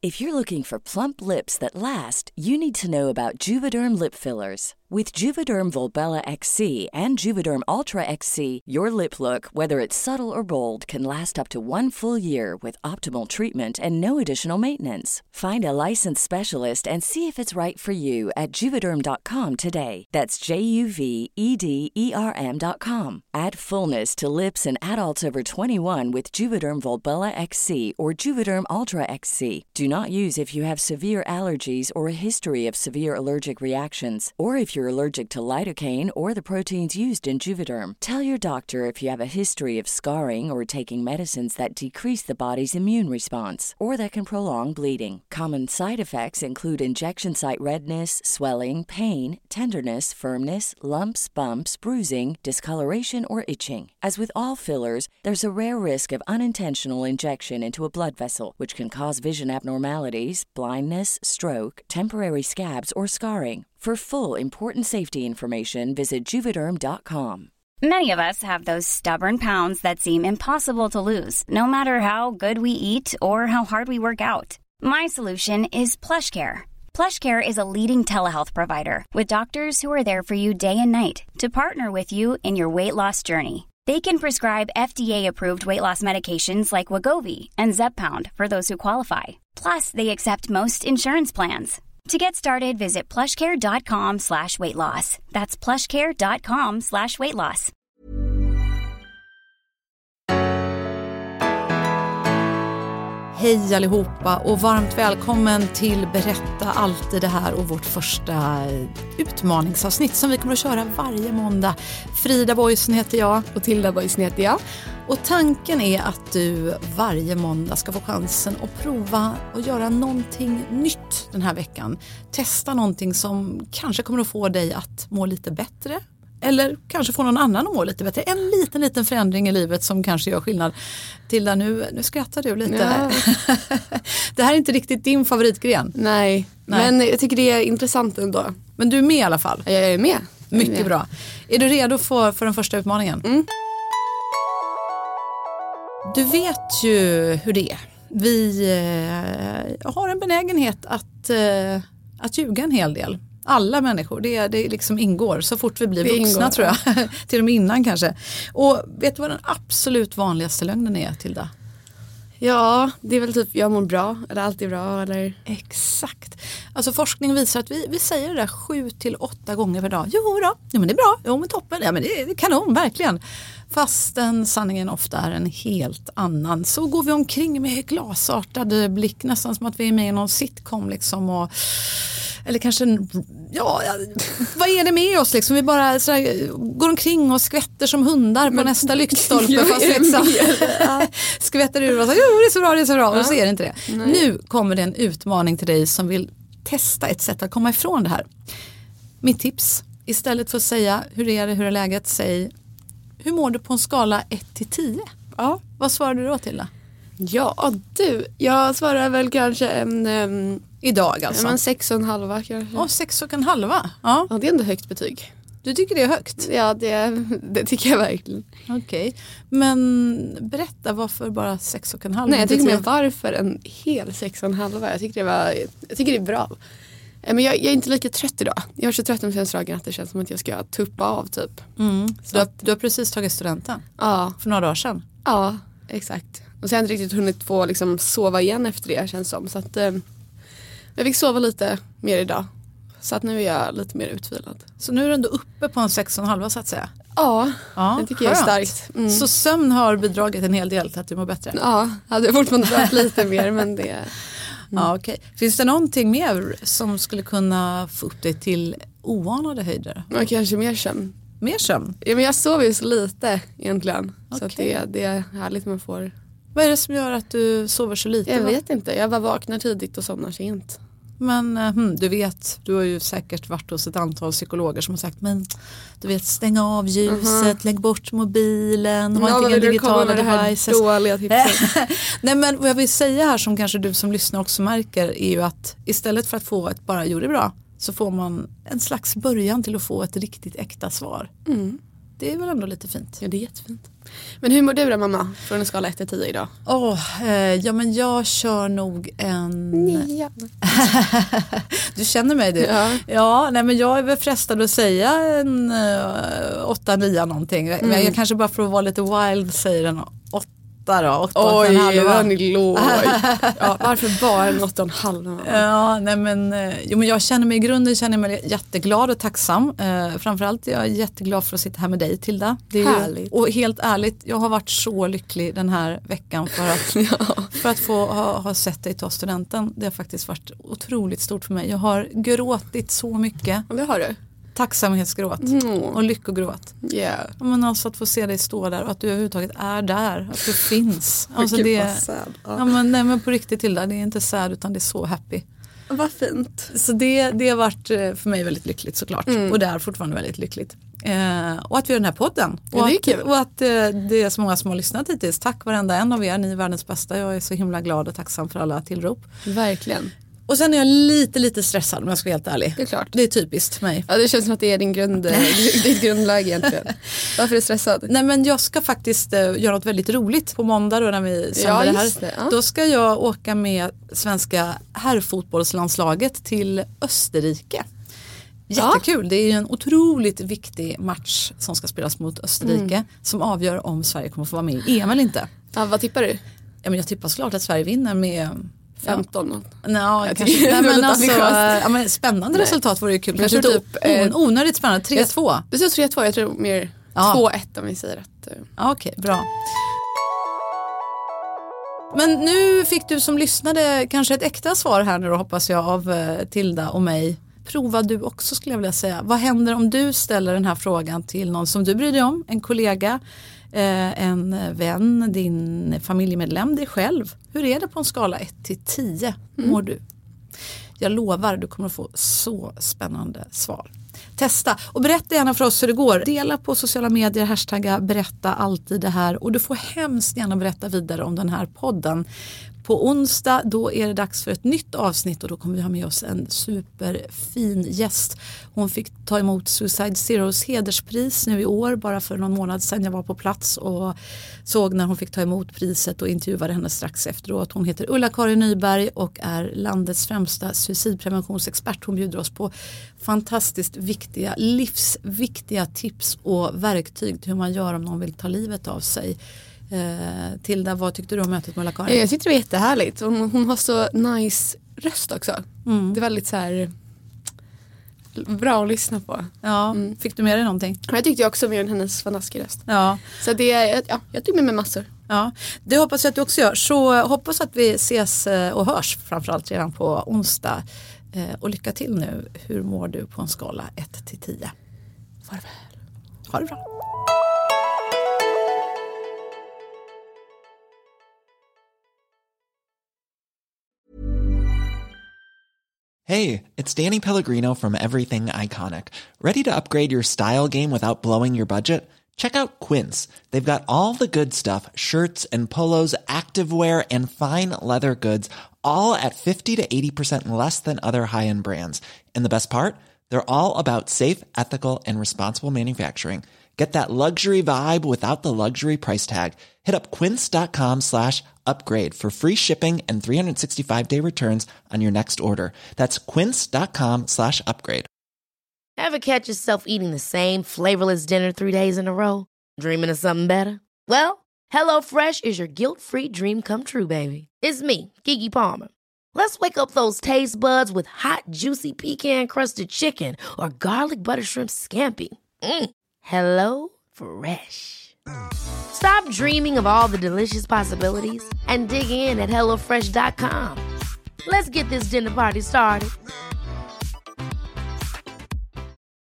If you're looking for plump lips that last, you need to know about Juvederm lip fillers. With Juvederm Volbella XC and Juvederm Ultra XC, your lip look, whether it's subtle or bold, can last up to 1 full year with optimal treatment and no additional maintenance. Find a licensed specialist and see if it's right for you at Juvederm.com today. That's JUVEDERM.com. Add fullness to lips in adults over 21 with Juvederm Volbella XC or Juvederm Ultra XC. Do not use if you have severe allergies or a history of severe allergic reactions, or if you're allergic to lidocaine or the proteins used in Juvederm. Tell your doctor if you have a history of scarring or taking medicines that decrease the body's immune response or that can prolong bleeding. Common side effects include injection site redness, swelling, pain, tenderness, firmness, lumps, bumps, bruising, discoloration, or itching. As with all fillers, there's a rare risk of unintentional injection into a blood vessel, which can cause vision abnormalities, blindness, stroke, temporary scabs, or scarring. For full, important safety information, visit Juvederm.com. Many of us have those stubborn pounds that seem impossible to lose, no matter how good we eat or how hard we work out. My solution is PlushCare. PlushCare is a leading telehealth provider with doctors who are there for you day and night to partner with you in your weight loss journey. They can prescribe FDA-approved weight loss medications like Wegovy and Zepbound for those who qualify. Plus, they accept most insurance plans. To get started, visit plushcare.com/weightloss. That's plushcare.com/weightloss. Hej allihopa och varmt välkommen till Berätta alltid det här och vårt första utmaningsavsnitt som vi kommer att köra varje måndag. Frida Boysen heter jag. Och Tilda Boysen heter jag. Och tanken är att du varje måndag ska få chansen att prova och göra någonting nytt den här veckan. Testa någonting som kanske kommer att få dig att må lite bättre. Eller kanske få någon annan att må lite bättre. En liten förändring i livet som kanske gör skillnad. Tilda, nu skrattar du lite. Ja. Det här är inte riktigt din favoritgren. Nej, men jag tycker det är intressant ändå. Men du är med i alla fall. Jag är med. Mycket bra. Är du redo för den första utmaningen? Mm. Du vet ju hur det är. Vi har en benägenhet att ljuga en hel del. Alla människor, det liksom ingår så fort vi blir vuxna tror jag. Till och med innan kanske. Och vet du vad den absolut vanligaste lögnen är, Tilda? Ja, det är väl typ jag mår bra, eller allt är bra, eller? Exakt. Alltså forskning visar att vi säger det där 7-8 gånger per dag. Jo då, ja, men det är bra, jo men toppen, ja men det är kanon, verkligen. Fastän sanningen ofta är en helt annan. Så går vi omkring med glasartad blick, nästan som att vi är med i någon sitcom liksom eller kanske, vad är det med oss liksom? Vi bara sådär, går omkring och skvätter som hundar på nästa lyktstolpe. Fast liksom, skvätter ur och så, jo det är så bra, det är så bra. Och så är det inte det. Nej. Nu kommer det en utmaning till dig som vill testa ett sätt att komma ifrån det här. Mitt tips, istället för att säga hur är läget, säg hur mår du på en skala 1-10? Ja. Vad svarar du då till det? Ja, jag svarar väl kanske en... Idag alltså? Men 6,5 kanske. 6,5? Ja. Ja, det är ändå högt betyg. Du tycker det är högt? Ja, det tycker jag verkligen. Okej. Men berätta, varför bara 6,5? Nej, jag tycker mer varför en hel 6,5. Jag tycker det är bra. Men jag är inte lika trött idag. Jag är så trött om dagen att det känns som att jag ska tuppa av typ. Så du har precis tagit studenten? Ja. För några dagar sedan? Ja, exakt. Och så har jag inte riktigt hunnit få liksom sova igen efter det, känns som. Så att jag fick sova lite mer idag. Så att nu är jag lite mer utvilad. Så nu är du ändå uppe på en 6,5 så att säga? Ja, det tycker jag är starkt. Mm. Så sömn har bidragit en hel del till att du mår bättre? Ja, hade jag fortfarande varit lite mer, men det... Ja, okej. Finns det någonting mer som skulle kunna få upp dig till oanade höjder? Ja, kanske mer sömn. Mer sömn? Ja, men jag sover ju så lite egentligen. Okay. Så att det är härligt man får... Vad är det som gör att du sover så lite? Jag vet inte. Jag bara vaknar tidigt och somnar sent. Men du vet, du har ju säkert varit hos ett antal psykologer som har sagt, men du vet, stänga av ljuset, lägg bort mobilen, ha inte inga digitala devices. Nej, men vad jag vill säga här som kanske du som lyssnar också märker är ju att istället för att få ett bara gjorde bra så får man en slags början till att få ett riktigt äkta svar. det är väl ändå lite fint. Ja, det är jättefint. Men hur mår du då, mamma? Från en skala 1-10 idag? Ja, men jag kör nog en... 9. Du känner mig, du. Ja, nej, men jag är väl frestad att säga en 8-9 någonting. Men jag kanske bara för att vara lite wild säger en 8 då. 8, oj, den är låg. Ja, varför bara en 8,5? Ja, nej men, men jag känner mig i grunden jätteglad och tacksam. Framförallt är jag jätteglad för att sitta här med dig, Tilda. Det är härligt. Och helt ärligt, jag har varit så lycklig den här veckan för att få ha sett dig ta studenten. Det har faktiskt varit otroligt stort för mig. Jag har gråtit så mycket. Ja, det har du. Tacksamhetsgråt och lyckogråt. Yeah. Men alltså att få se dig stå där och att du överhuvudtaget är där, att du finns. Alltså Gud, det, vad sad. ja, men på riktigt till det är inte sad utan det är så happy. Vad fint. Så det har varit för mig väldigt lyckligt såklart. Och det är fortfarande väldigt lyckligt. Och att vi har den här podden. Ja, det är kul. Och att det är så många som har lyssnat hittills. Tack varenda en av er, ni är världens bästa. Jag är så himla glad och tacksam för alla tillrop. Verkligen. Och sen är jag lite stressad om jag ska vara helt ärlig. Det är klart. Det är typiskt mig. Ja, det känns som att det är ditt grundläge egentligen. Varför är du stressad? Nej, men jag ska faktiskt göra något väldigt roligt på måndag då när vi sänder det här. Det, ja. Då ska jag åka med svenska herrfotbollslandslaget till Österrike. Jättekul, det är ju en otroligt viktig match som ska spelas mot Österrike som avgör om Sverige kommer få vara med i EM eller inte. Ja, vad tippar du? Ja, men jag tippar såklart att Sverige vinner med 15. Nej, men alltså, men spännande resultat vore ju kul. Kanske typ onödigt spännande. 3-2. Du säger 3-2, jag tror mer 2-1 om vi säger att... Okej, bra. Men nu fick du som lyssnade kanske ett äkta svar här nu då, hoppas jag, av Tilda och mig. Prova du också, skulle jag vilja säga. Vad händer om du ställer den här frågan till någon som du bryr dig om? En kollega, en vän, din familjemedlem, dig själv. Hur är det på en skala 1-10 mår du? Jag lovar, du kommer att få så spännande svar. Testa och berätta gärna för oss hur det går. Dela på sociala medier, hashtagga berätta alltid det här. Och du får hemskt gärna berätta vidare om den här podden. På onsdag då är det dags för ett nytt avsnitt och då kommer vi ha med oss en superfin gäst. Hon fick ta emot Suicide Zeros hederspris nu i år, bara för någon månad sedan. Jag var på plats och såg när hon fick ta emot priset och intervjuade henne strax efteråt. Hon heter Ulla-Karin Nyberg och är landets främsta suicidpreventionsexpert. Hon bjuder oss på fantastiskt viktiga, livsviktiga tips och verktyg till hur man gör om någon vill ta livet av sig. Tilda, vad tyckte du om mötet med Ulla-Karin? Jag tyckte det var jättehärligt. Hon har så nice röst också. Det är väldigt så här bra att lyssna på. Ja, fick du med dig någonting? Jag tyckte också mer än hennes fantastiska röst. Ja. Så jag tycker med mig massor. Ja, det hoppas jag att du också gör. Så hoppas att vi ses och hörs framförallt redan på onsdag. Och lycka till nu. Hur mår du på en skala 1-10? Farväl. Ha det bra. Hey, it's Danny Pellegrino from Everything Iconic. Ready to upgrade your style game without blowing your budget? Check out Quince. They've got all the good stuff, shirts and polos, activewear, and fine leather goods, all at 50 to 80% less than other high-end brands. And the best part? They're all about safe, ethical, and responsible manufacturing. Get that luxury vibe without the luxury price tag. Hit up quince.com/upgrade for free shipping and 365-day returns on your next order. That's quince.com/upgrade. Ever catch yourself eating the same flavorless dinner 3 days in a row? Dreaming of something better? Well, HelloFresh is your guilt-free dream come true, baby. It's me, Keke Palmer. Let's wake up those taste buds with hot, juicy pecan-crusted chicken or garlic butter shrimp scampi. Hello Fresh. Stop dreaming of all the delicious possibilities and dig in at HelloFresh.com. Let's get this dinner party started.